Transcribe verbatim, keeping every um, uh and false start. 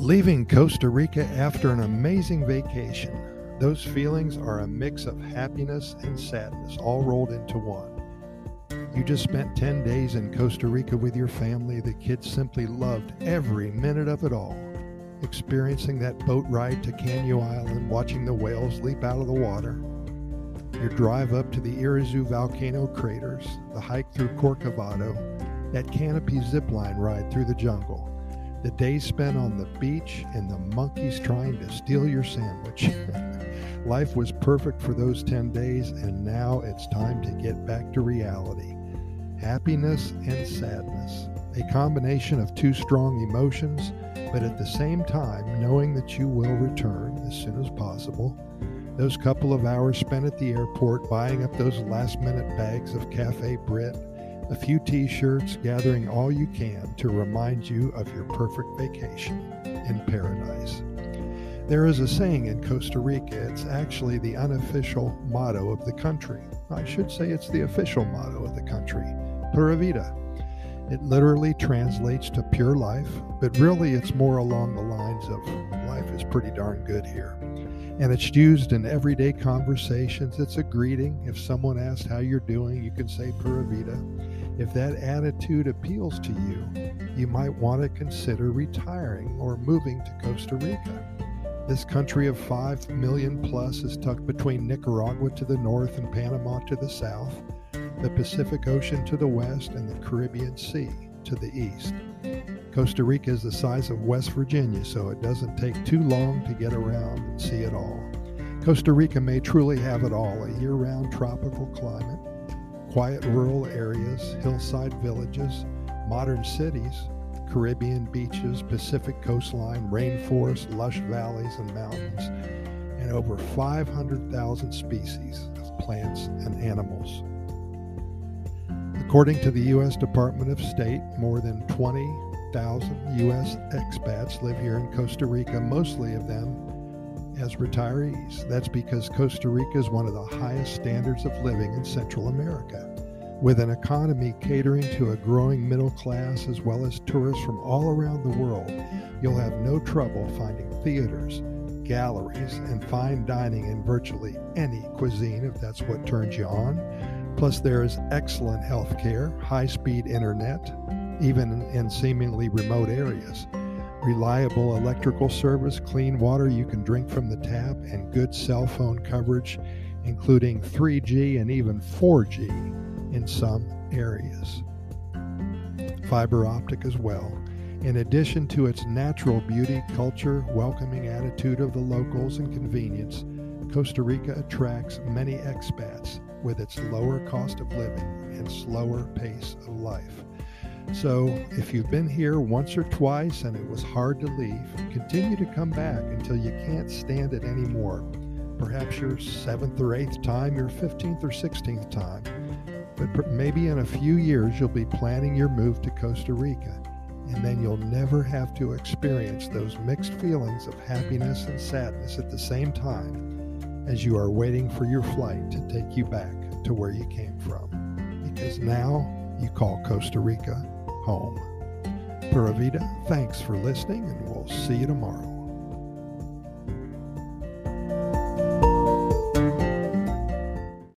Leaving Costa Rica after an amazing vacation. Those feelings are a mix of happiness and sadness, all rolled into one. You just spent ten days in Costa Rica with your family. The kids simply loved every minute of it all. Experiencing that boat ride to Canyo Island, watching the whales leap out of the water. Your drive up to the Irazu volcano craters, the hike through Corcovado, that canopy zipline ride through the jungle. The days spent on the beach and the monkeys trying to steal your sandwich. Life was perfect for those ten days, and now it's time to get back to reality. Happiness and sadness, a combination of two strong emotions, but at the same time knowing that you will return as soon as possible. Those couple of hours spent at the airport buying up those last-minute bags of Cafe Brit, a few t-shirts, gathering all you can to remind you of your perfect vacation in paradise. There is a saying in Costa Rica. It's actually the unofficial motto of the country. I should say it's the official motto of the country, Pura Vida. It literally translates to pure life, but really it's more along the lines of life is pretty darn good here. And it's used in everyday conversations. It's a greeting. If someone asks how you're doing, you can say Pura Vida. If that attitude appeals to you, you might want to consider retiring or moving to Costa Rica. This country of five million plus is tucked between Nicaragua to the north and Panama to the south, the Pacific Ocean to the west, and the Caribbean Sea to the east. Costa Rica is the size of West Virginia, so it doesn't take too long to get around and see it all. Costa Rica may truly have it all: a year-round tropical climate, quiet rural areas, hillside villages, modern cities, Caribbean beaches, Pacific coastline, rainforests, lush valleys and mountains, and over five hundred thousand species of plants and animals. According to the U S Department of State, more than twenty thousand U S expats live here in Costa Rica, mostly of them as retirees. That's because Costa Rica is one of the highest standards of living in Central America. With an economy catering to a growing middle class as well as tourists from all around the world, you'll have no trouble finding theaters, galleries, and fine dining in virtually any cuisine if that's what turns you on. Plus, there is excellent health care, high-speed internet, even in seemingly remote areas, reliable electrical service, clean water you can drink from the tap, and good cell phone coverage, including three G and even four G in some areas. Fiber optic as well. In addition to its natural beauty, culture, welcoming attitude of the locals, and convenience, Costa Rica attracts many expats with its lower cost of living and slower pace of life. So if you've been here once or twice and it was hard to leave, continue to come back until you can't stand it anymore. Perhaps your seventh or eighth time, your fifteenth or sixteenth time. But maybe in a few years you'll be planning your move to Costa Rica, and then you'll never have to experience those mixed feelings of happiness and sadness at the same time as you are waiting for your flight to take you back to where you came from. Because now you call Costa Rica home. Pura Vida, thanks for listening, and we'll see you tomorrow.